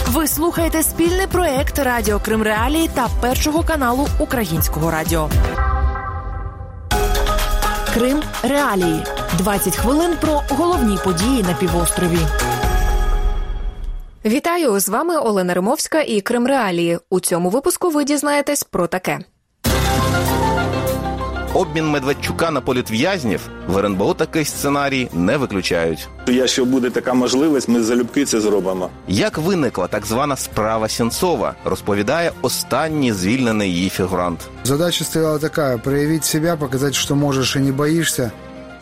Ви слухаєте спільний проєкт Радіо Крим Реалії та Першого каналу Українського радіо. Крим Реалії. 20 хвилин про головні події на півострові. Вітаю! З вами Олена Римовська і Крим Реалії. У цьому випуску ви дізнаєтесь про таке. Обмін Медведчука на політв'язнів в РНБО такий сценарій не виключають. Якщо буде така можливість, ми залюбки це зробимо. Як виникла так звана справа Сенцова, розповідає останній звільнений її фігурант. Задача стояла така – проявити себе, показати, що можеш і не боїшся.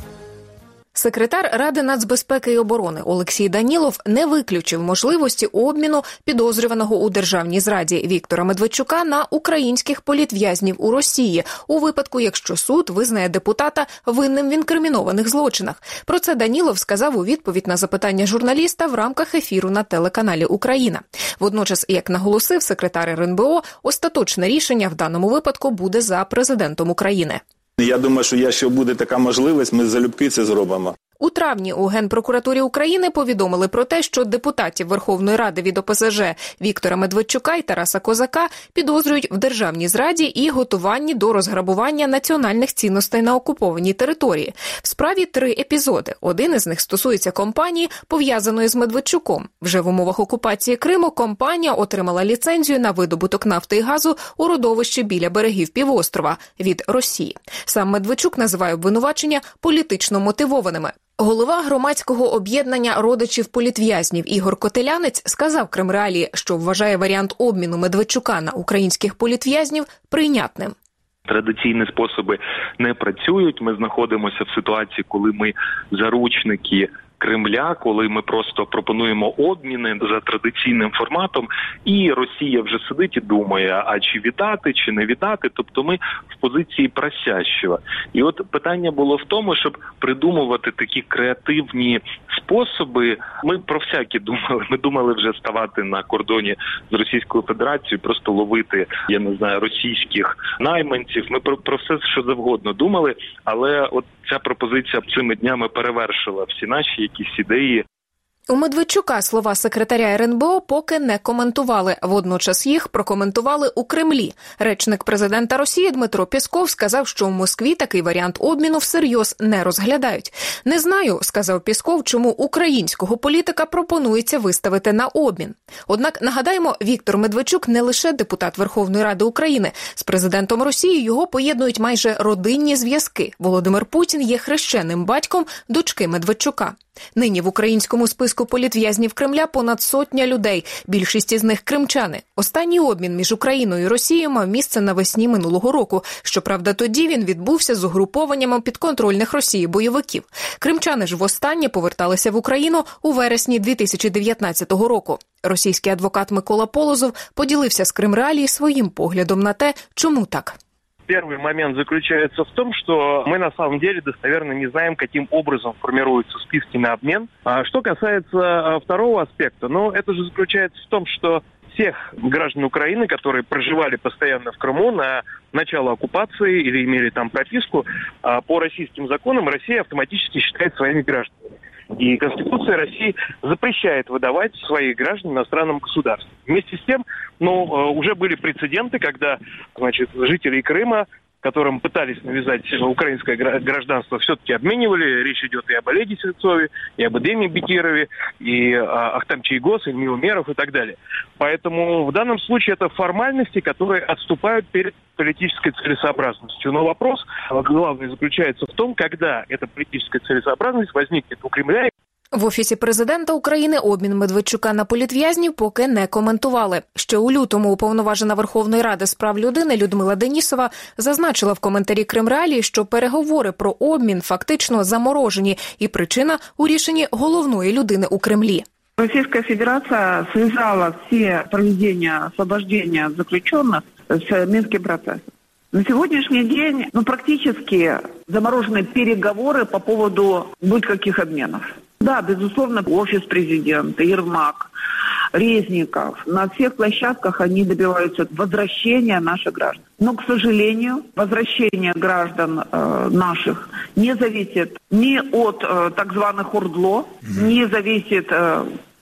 Секретар Ради нацбезпеки і оборони Олексій Данілов не виключив можливості обміну підозрюваного у державній зраді Віктора Медведчука на українських політв'язнів у Росії у випадку, якщо суд визнає депутата винним в інкримінованих злочинах. Про це Данілов сказав у відповідь на запитання журналіста в рамках ефіру на телеканалі «Україна». Водночас, як наголосив секретар РНБО, остаточне рішення в даному випадку буде за президентом України. Я думаю, що якщо буде така можливість, ми залюбки це зробимо. У травні у Генпрокуратурі України повідомили про те, що депутатів Верховної Ради від ОПЗЖ Віктора Медведчука і Тараса Козака підозрюють в державній зраді і готуванні до розграбування національних цінностей на окупованій території. В справі 3 епізоди. Один із них стосується компанії, пов'язаної з Медведчуком. Вже в умовах окупації Криму компанія отримала ліцензію на видобуток нафти і газу у родовищі біля берегів півострова від Росії. Сам Медведчук називає обвинувачення політично мотивованими. Голова громадського об'єднання родичів політв'язнів Ігор Котелянець сказав Крим Реалії, що вважає варіант обміну Медведчука на українських політв'язнів прийнятним. Традиційні способи не працюють. Ми знаходимося в ситуації, коли ми заручники Кремля, коли ми просто пропонуємо обміни за традиційним форматом, і Росія вже сидить і думає, а чи віддати, чи не віддати. Тобто ми в позиції просящого. І от питання було в тому, щоб придумувати такі креативні способи. Ми про всякі думали. Ми думали вже ставати на кордоні з Російською Федерацією, просто ловити, я не знаю, російських найманців. Ми про все, що завгодно думали, але от ця пропозиція цими днями перевершила всі наші якісь ідеї. У Медведчука слова секретаря РНБО поки не коментували. Водночас їх прокоментували у Кремлі. Речник президента Росії Дмитро Пєсков сказав, що в Москві такий варіант обміну всерйоз не розглядають. «Не знаю», – сказав Пєсков, чому українського політика пропонується виставити на обмін. Однак, нагадаємо, Віктор Медведчук не лише депутат Верховної Ради України. З президентом Росії його поєднують майже родинні зв'язки. Володимир Путін є хрещеним батьком дочки Медведчука. Нині в українському списку політв'язнів Кремля понад 100 людей, більшість із них кримчани. Останній обмін між Україною і Росією мав місце навесні минулого року. Щоправда, тоді він відбувся з угрупованнями підконтрольних Росії бойовиків. Кримчани ж востаннє поверталися в Україну у вересні 2019 року. Російський адвокат Микола Полозов поділився з Крим Реалії своїм поглядом на те, чому так. Первый момент заключается в том, что мы на самом деле достоверно не знаем, каким образом формируются списки на обмен. А что касается второго аспекта, это же заключается в том, что всех граждан Украины, которые проживали постоянно в Крыму на начало оккупации или имели там прописку, по российским законам Россия автоматически считает своими гражданами. И Конституция России запрещает выдавать своих граждан иностранным государствам. Вместе с тем, уже были прецеденты, когда, жители Крыма, которым пытались навязать украинское гражданство, все-таки обменивали. Речь идет и об Олеге Сенцове, и об Эдеме Бекирове, и Ахтам Чайгос, и Эмил Умеров, и так далее. Поэтому в данном случае это формальности, которые отступают перед политической целесообразностью. Но вопрос главный заключается в том, когда эта политическая целесообразность возникнет у Кремля. В Офісі президента України обмін Медведчука на політв'язнів поки не коментували. Ще у лютому уповноважена Верховної Ради з прав людини Людмила Денісова зазначила в коментарі Крим Реалії, що переговори про обмін фактично заморожені і причина у рішенні головної людини у Кремлі. Российская Федерация связала все проведения освобождения заключенных с Минским процессом. На сегодняшний день практически заморожены переговоры по поводу каких обменов. Да, безусловно, офис президента, Ермак, Резников, на всех площадках они добиваются возвращения наших граждан. Но, к сожалению, возвращение граждан наших не зависит ни от так званых ОРДЛО, не зависит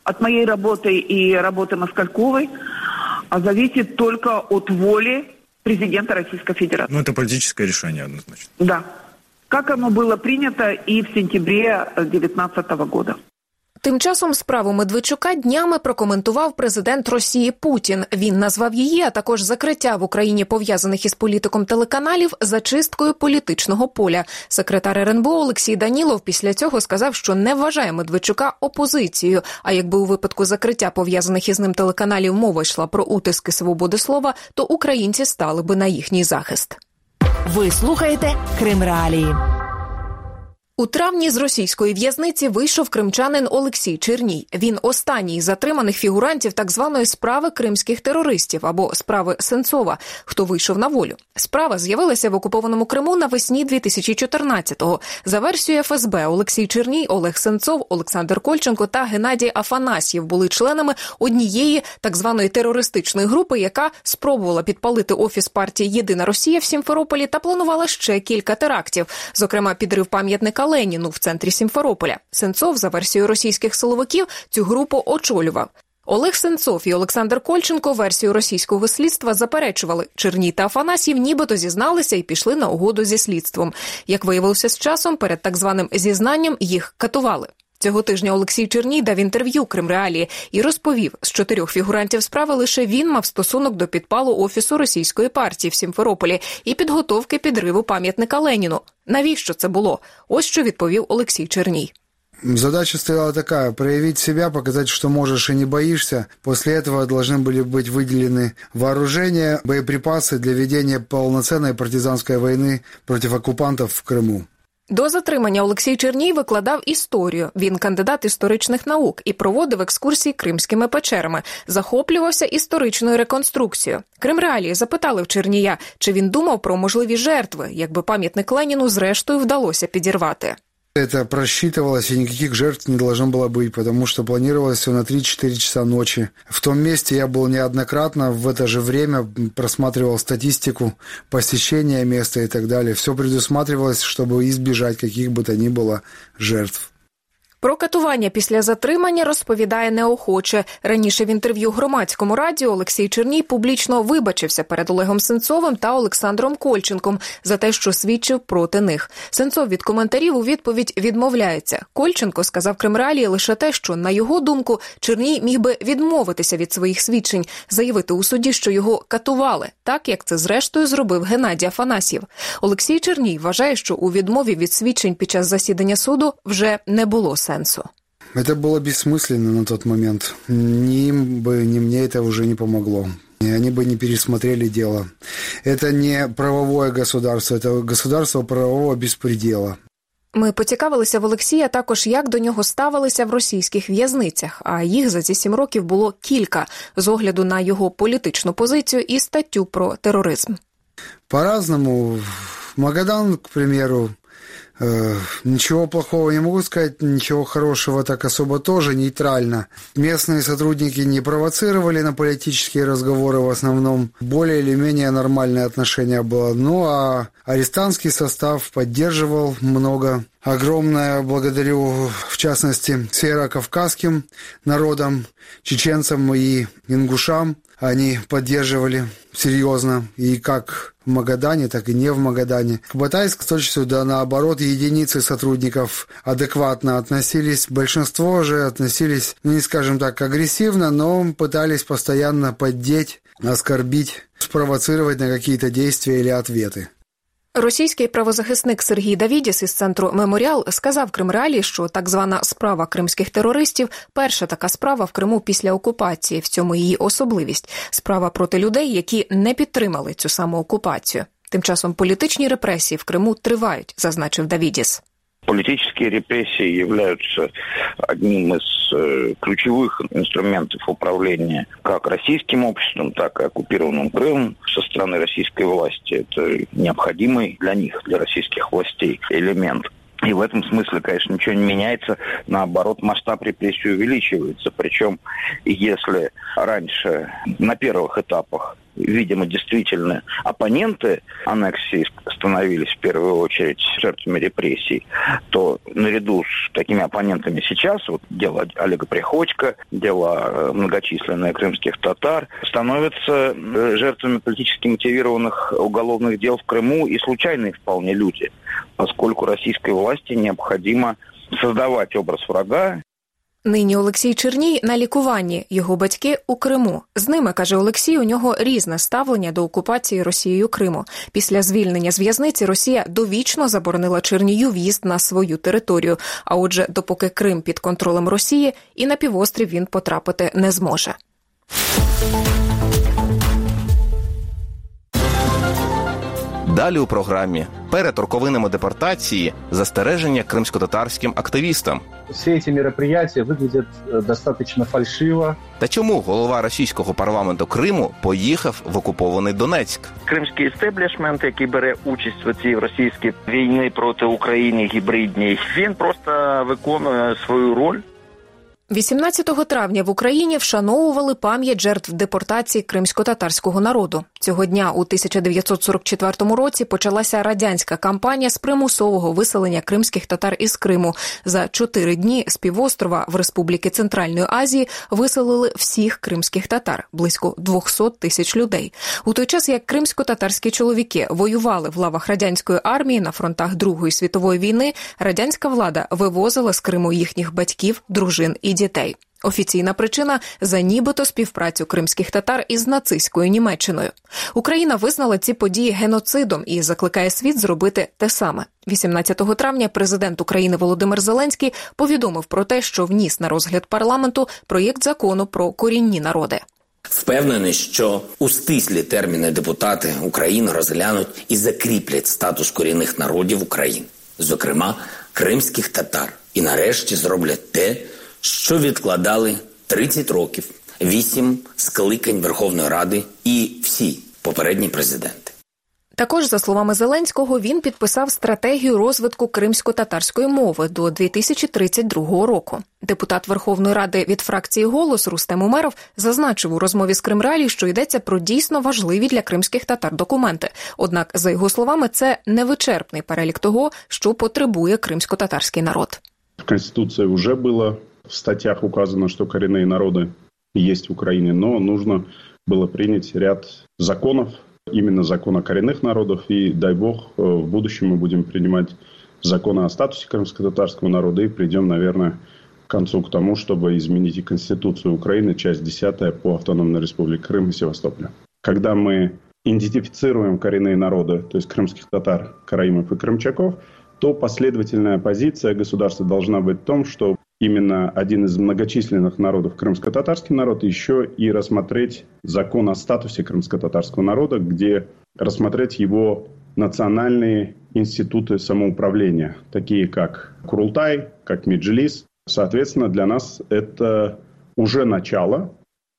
от моей работы и работы Москальковой зависит только от воли президента Российской Федерации. Ну, это политическое решение однозначно. Да. Как оно было принято и в сентябре 2019 года. Тим часом справу Медведчука днями прокоментував президент Росії Путін. Він назвав її, а також закриття в Україні пов'язаних із політиком телеканалів зачисткою політичного поля. Секретар РНБО Олексій Данілов після цього сказав, що не вважає Медведчука опозицією, а якби у випадку закриття пов'язаних із ним телеканалів мова йшла про утиски свободи слова, то українці стали би на їхній захист. Ви слухаєте Крим Реалії. У травні з російської в'язниці вийшов кримчанин Олексій Черній. Він останній із затриманих фігурантів так званої справи кримських терористів або справи Сенцова, хто вийшов на волю. Справа з'явилася в окупованому Криму навесні 2014-го. За версією ФСБ, Олексій Черній, Олег Сенцов, Олександр Кольченко та Геннадій Афанасьєв були членами однієї так званої терористичної групи, яка спробувала підпалити офіс партії «Єдина Росія» в Сімферополі та планувала ще кілька терактів, зокрема підрив пам'ятника Леніну в центрі Сімферополя. Сенцов, за версією російських силовиків, цю групу очолював. Олег Сенцов і Олександр Кольченко версію російського слідства заперечували. Черній та Афанасьєв нібито зізналися і пішли на угоду зі слідством. Як виявилося з часом, перед так званим зізнанням їх катували. Цього тижня Олексій Черній дав інтерв'ю «Крим Реалії» і розповів, з 4 фігурантів справи лише він мав стосунок до підпалу офісу російської партії в Сімферополі і підготовки підриву пам'ятника Леніну. Навіщо це було? Ось що відповів Олексій Черній. Задача стояла такая – проявить себя, показать, что можешь и не боишься. После этого должны были быть выделены вооружения, боеприпасы для ведения полноценной партизанской войны против оккупантов в Крыму. До затримання Олексій Черній викладав історію. Він кандидат історичних наук і проводив екскурсії кримськими печерами. Захоплювався історичною реконструкцією. Крим Реалії запитали в Чернія, чи він думав про можливі жертви, якби пам'ятник Леніну зрештою вдалося підірвати. Это просчитывалось, и никаких жертв не должно было быть, потому что планировалось все на 3-4 часа ночи. В том месте я был неоднократно, в это же время просматривал статистику посещения места и так далее. Все предусматривалось, чтобы избежать каких бы то ни было жертв. Про катування після затримання розповідає неохоче. Раніше в інтерв'ю Громадському радіо Олексій Черній публічно вибачився перед Олегом Сенцовим та Олександром Кольченком за те, що свідчив проти них. Сенцов від коментарів у відповідь відмовляється. Кольченко сказав Крим Реалії лише те, що, на його думку, Черній міг би відмовитися від своїх свідчень, заявити у суді, що його катували, так як це зрештою зробив Геннадій Афанасьєв. Олексій Черній вважає, що у відмові від свідчень під час засідання суду вже не було сенсу. Это было бессмысленно на тот момент. Ни им бы, ни мне это уже не помогло. И они бы не пересмотрели дело. Это не правовое государство, это государство правового беспредела. Ми поцікавилися в Олексія також, як до нього ставилися в російських в'язницях, а їх за ці 7 років було кілька, з огляду на його політичну позицію і статтю про тероризм. По-разному. Магадан, к примеру, ничего плохого не могу сказать, ничего хорошего так особо тоже, нейтрально. Местные сотрудники не провоцировали на политические разговоры в основном. Более или менее нормальное отношение было. Ну, а арестантский состав поддерживал много. Огромное благодарю, в частности, северокавказским народам, чеченцам и ингушам. Они поддерживали серьезно, и как в Магадане, так и не в Магадане. К Батайску, с точностью да наоборот, единицы сотрудников адекватно относились. Большинство же относились, ну не скажем так, агрессивно, но пытались постоянно поддеть, оскорбить, спровоцировать на какие-то действия или ответы. Російський правозахисник Сергій Давідіс із центру «Меморіал» сказав Крим Реалії, що так звана справа кримських терористів – перша така справа в Криму після окупації, в цьому її особливість. Справа проти людей, які не підтримали цю саму окупацію. Тим часом політичні репресії в Криму тривають, зазначив Давідіс. Политические репрессии являются одним из ключевых инструментов управления как российским обществом, так и оккупированным Крымом со стороны российской власти. Это необходимый для них, для российских властей, элемент. И в этом смысле, конечно, ничего не меняется. Наоборот, масштаб репрессий увеличивается. Причем, если раньше на первых этапах, видимо, действительно оппоненты аннексии становились в первую очередь жертвами репрессий, то наряду с такими оппонентами сейчас, вот дело Олега Приходько, дело многочисленных крымских татар, становятся жертвами политически мотивированных уголовных дел в Крыму и случайные вполне люди, поскольку российской власти необходимо создавать образ врага. Нині Олексій Черній на лікуванні, його батьки у Криму. З ними, каже Олексій, у нього різне ставлення до окупації Росією Криму. Після звільнення з в'язниці Росія довічно заборонила Чернію в'їзд на свою територію. А отже, допоки Крим під контролем Росії, і на півострів він потрапити не зможе. Далі у програмі перед роковинами депортації застереження кримськотатарським активістам. Всі эти мероприятия выглядят достаточно фальшиво. Та чому голова російського парламенту Криму поїхав в окупований Донецьк? Кримський істеблішмент, який бере участь в цій російській війні проти України гібридній, він просто виконує свою роль. 18 травня в Україні вшановували пам'ять жертв депортації кримсько-татарського народу. Цього дня у 1944 році почалася радянська кампанія з примусового виселення кримських татар із Криму. За 4 дні з півострова в Республіки Центральної Азії виселили всіх кримських татар – близько 200 тисяч людей. У той час, як кримсько-татарські чоловіки воювали в лавах радянської армії на фронтах Другої світової війни, радянська влада вивозила з Криму їхніх батьків, дружин і дітей. Офіційна причина – за нібито співпрацю кримських татар із нацистською Німеччиною. Україна визнала ці події геноцидом і закликає світ зробити те саме. 18 травня президент України Володимир Зеленський повідомив про те, що вніс на розгляд парламенту проєкт закону про корінні народи. Впевнений, що у стислі терміни депутати України розглянуть і закріплять статус корінних народів України, зокрема кримських татар, і нарешті зроблять те, що відкладали 30 років, 8 скликань Верховної Ради і всі попередні президенти. Також, за словами Зеленського, він підписав стратегію розвитку кримсько-татарської мови до 2032 року. Депутат Верховної Ради від фракції «Голос» Рустем Умеров зазначив у розмові з Кримреалії, що йдеться про дійсно важливі для кримських татар документи. Однак, за його словами, це невичерпний перелік того, що потребує кримсько-татарський народ. В Конституции уже было в статьях указано, что коренные народы есть в Украине, но нужно было принять ряд законов, именно закон о коренных народах, и, дай бог, в будущем мы будем принимать законы о статусе крымско-татарского народа и придем, наверное, к концу к тому, чтобы изменить и Конституцию Украины, часть 10 по Автономной Республике Крым и Севастополя. Когда мы идентифицируем коренные народы, то есть крымских татар, караимов и крымчаков, то последовательная позиция государства должна быть в том, что именно один из многочисленных народов, крымско-татарский народ, еще и рассмотреть закон о статусе крымско-татарского народа, где рассмотреть его национальные институты самоуправления, такие как Курултай, как Меджлис. Соответственно, для нас это уже начало.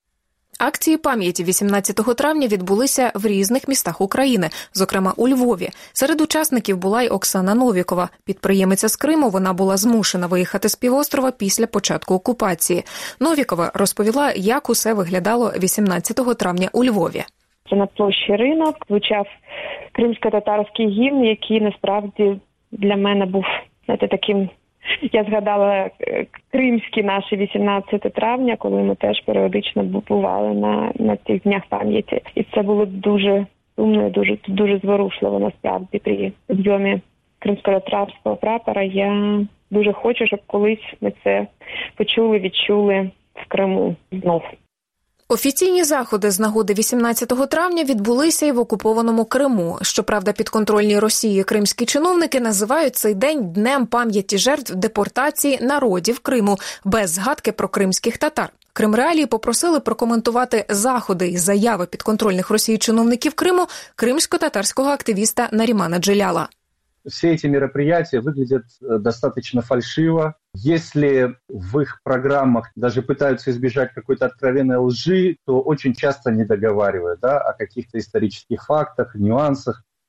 Акції пам'яті 18 травня відбулися в різних містах України, зокрема у Львові. Серед учасників була й Оксана Новікова. Підприємиця з Криму, вона була змушена виїхати з півострова після початку окупації. Новікова розповіла, як усе виглядало 18 травня у Львові. Це на площі Ринок звучав кримсько-татарський гімн, який насправді для мене був, таким... Я згадала кримські наші 18 травня, коли ми теж періодично бували на цих днях пам'яті. І це було дуже сумно, дуже зворушливо насправді при підйомі кримсько-татарського прапора. Я дуже хочу, щоб колись ми це почули, відчули в Криму знов. Офіційні заходи з нагоди 18 травня відбулися і в окупованому Криму. Щоправда, підконтрольні Росії кримські чиновники називають цей день Днем пам'яті жертв депортації народів Криму, без згадки про кримських татар. Кримреалії попросили прокоментувати заходи і заяви підконтрольних Росії чиновників Криму кримсько-татарського активіста Нарімана Джеляла. Все эти мероприятия выглядят достаточно фальшиво. Если в их программах даже пытаются избежать какой-то откровенной лжи, то очень часто не договаривают о каких-то исторических фактах, нюансах.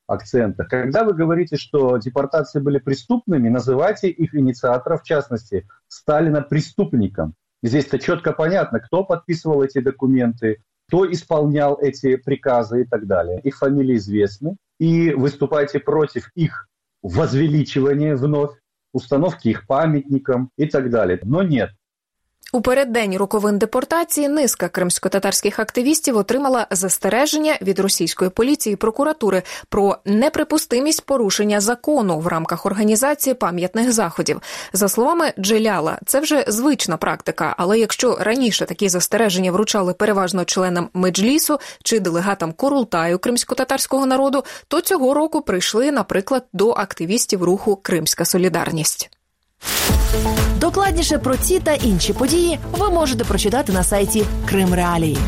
акцентах. Когда вы говорите, что депортации были преступными, называйте их инициатора, в частности, Сталина, преступником. Здесь-то четко понятно, кто подписывал эти документы, кто исполнял эти приказы и так далее. Их фамилии известны, и выступайте против их возвеличивания вновь, установки их памятникам и так далее. Но нет. У переддень роковин депортації низка кримськотатарських активістів отримала застереження від російської поліції і прокуратури про неприпустимість порушення закону в рамках організації пам'ятних заходів. За словами Джеляла, це вже звична практика, але якщо раніше такі застереження вручали переважно членам Меджлісу чи делегатам Курултаю кримськотатарського народу, то цього року прийшли, наприклад, до активістів руху «Кримська солідарність». Докладніше про ці та інші події ви можете прочитати на сайті Крим Реалії.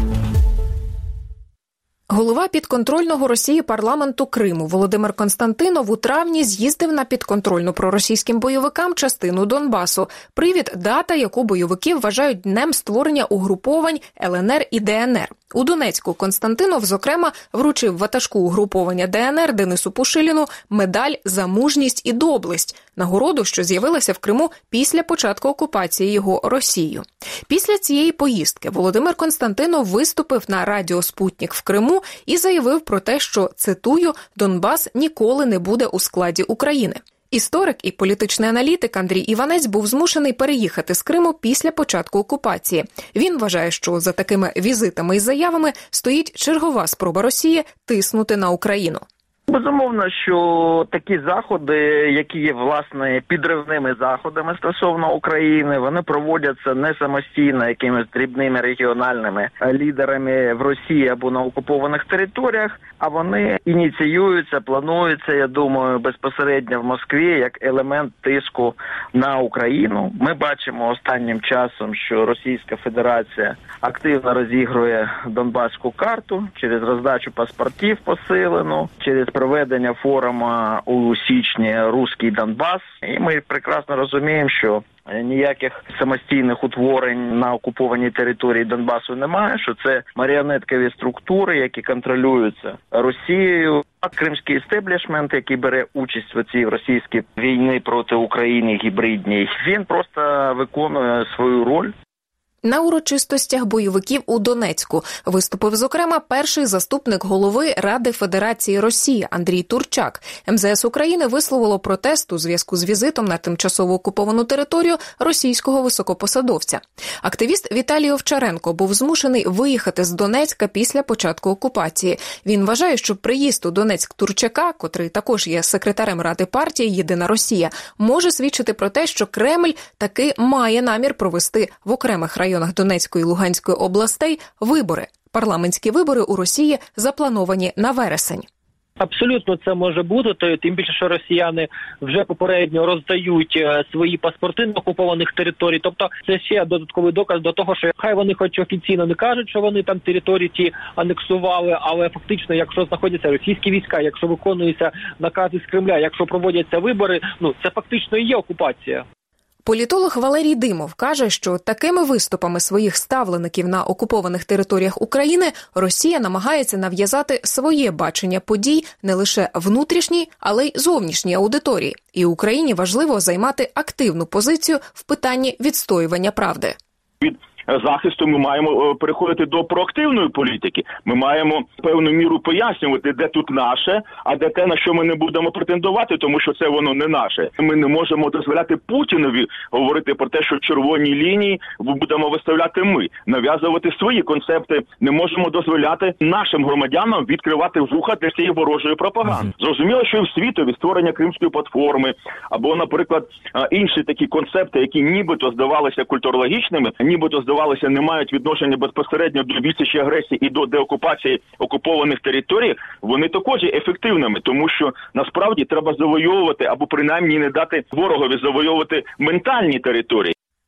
Голова підконтрольного Росії парламенту Криму Володимир Константинов у травні з'їздив на підконтрольну проросійським бойовикам частину Донбасу. Привід – дата, яку бойовики вважають днем створення угруповань ЛНР і ДНР. У Донецьку Константинов, зокрема, вручив ватажку угруповання ДНР Денису Пушиліну медаль «За мужність і доблесть» – нагороду, що з'явилася в Криму після початку окупації його Росією. Після цієї поїздки Володимир Константинов виступив на радіо «Спутник» в Криму і заявив про те, що, цитую, «Донбас ніколи не буде у складі України». Історик і політичний аналітик Андрій Іванець був змушений переїхати з Криму після початку окупації. Він вважає, що за такими візитами і заявами стоїть чергова спроба Росії тиснути на Україну. Безумовно, що такі заходи, які є, власне, підривними заходами стосовно України, вони проводяться не самостійно якимись дрібними регіональними лідерами в Росії або на окупованих територіях, а вони ініціюються, плануються, я думаю, безпосередньо в Москві як елемент тиску на Україну. Ми бачимо останнім часом, що Російська Федерація активно розігрує донбаську карту через роздачу паспортів посилену, через проведення форуму у січні «Руський Донбас». І ми прекрасно розуміємо, що ніяких самостійних утворень на окупованій території Донбасу немає, що це маріонеткові структури, які контролюються Росією. А кримський істеблішмент, який бере участь в цій російській війні проти України гібридній, він просто виконує свою роль. На урочистостях бойовиків у Донецьку виступив, зокрема, перший заступник голови Ради Федерації Росії Андрій Турчак. МЗС України висловило протест у зв'язку з візитом на тимчасово окуповану територію російського високопосадовця. Активіст Віталій Овчаренко був змушений виїхати з Донецька після початку окупації. Він вважає, що приїзд у Донецьк Турчака, котрий також є секретарем Ради партії «Єдина Росія», може свідчити про те, що Кремль таки має намір провести в окремих районах Донецької і Луганської областей вибори. Парламентські вибори у Росії заплановані на вересень. Абсолютно це може бути, тим більше, що росіяни вже попередньо роздають свої паспорти на окупованих територій. Тобто це ще додатковий доказ до того, що хай вони хоч офіційно не кажуть, що вони там території ті анексували, але фактично, якщо знаходяться російські війська, якщо виконуються накази з Кремля, якщо проводяться вибори, це фактично і є окупація. Політолог Валерій Димов каже, що такими виступами своїх ставлеників на окупованих територіях України Росія намагається нав'язати своє бачення подій не лише внутрішній, але й зовнішній аудиторії. І Україні важливо займати активну позицію в питанні відстоювання правди. Від захисту ми маємо переходити до проактивної політики. Ми маємо певну міру пояснювати, де тут наше, а де те, на що ми не будемо претендувати, тому що це воно не наше. Ми не можемо дозволяти Путінові говорити про те, що червоні лінії будемо виставляти ми, нав'язувати свої концепти. Не можемо дозволяти нашим громадянам відкривати вуха для цієї ворожої пропаганди. Зрозуміло, що і в світові створення Кримської платформи, або, наприклад, інші такі концепти, які нібито здавалися культурологічними, нібито здавалися не мають відношення безпосередньо до відсічі агресії і до деокупації окупованих територій, вони також є ефективними, тому що насправді треба завойовувати або принаймні не дати ворогові завойовувати ментальні території.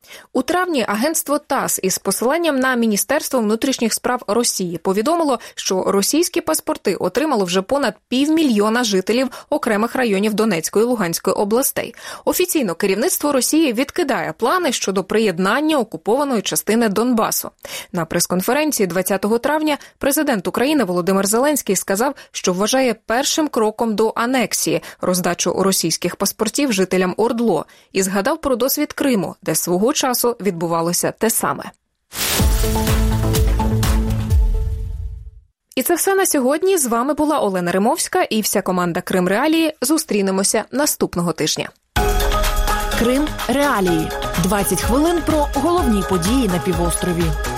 У травні агентство ТАСС із посиланням на Міністерство внутрішніх справ Росії повідомило, що російські паспорти отримало вже понад 500 000 жителів окремих районів Донецької і Луганської областей. Офіційно керівництво Росії відкидає плани щодо приєднання окупованої частини Донбасу. На прес-конференції 20 травня президент України Володимир Зеленський сказав, що вважає першим кроком до анексії роздачу російських паспортів жителям ОРДЛО і згадав про досвід Криму, де свого часу відбувалося те саме. І це все на сьогодні. З вами була Олена Римовська і вся команда Крим Реалії. Зустрінемося наступного тижня. Крим Реалії. 20 хвилин про головні події на півострові.